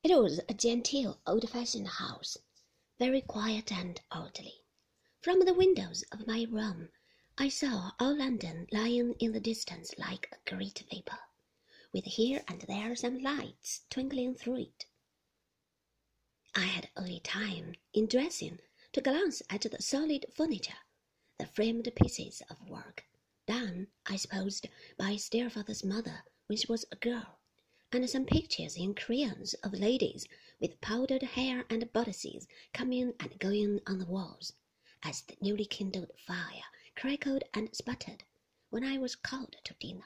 It was a genteel, old-fashioned house, very quiet and orderly. From the windows of my room, I saw all London lying in the distance like a great vapour, with here and there some lights twinkling through it. I had only time, in dressing, to glance at the solid furniture, the framed pieces of work, done, I supposed, by Stillfather's mother when she was a girl, and some pictures in crayons of ladies with powdered hair and bodices coming and going on the walls, as the newly kindled fire crackled and sputtered when I was called to dinner.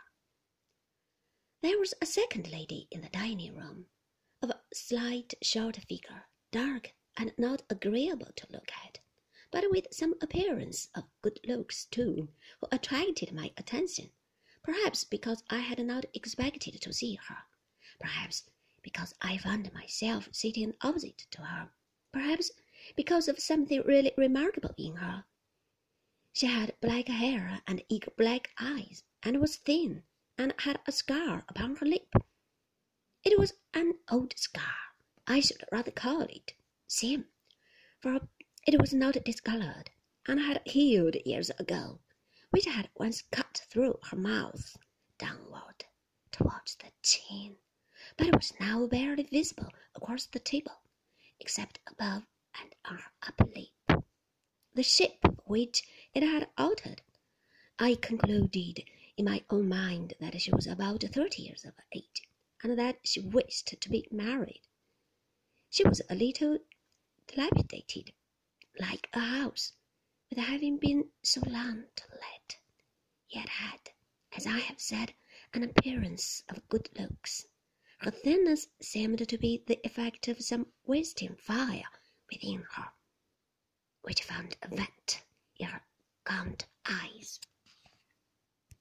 There was a second lady in the dining-room, of a slight, short figure, dark and not agreeable to look at, but with some appearance of good looks too, who attracted my attention, perhaps because I had not expected to see her, perhaps because I found myself sitting opposite to her, perhaps because of something really remarkable in her. She had black hair and eager black eyes, and was thin, and had a scar upon her lip. It was an old scar. I should rather call it seam, for it was not discoloured, and had healed years ago, which had once cut through her mouth, downward, towards the chin, but was now barely visible across the table, except above and on her upper lip. The shape which it had altered, I concluded in my own mind that she was about 30 years of age, and that she wished to be married. She was a little dilapidated, like a house, with having been so long to let, yet had, as I have said, an appearance of good looks. Her thinness seemed to be the effect of some wasting fire within her, which found a vent in her gaunt eyes.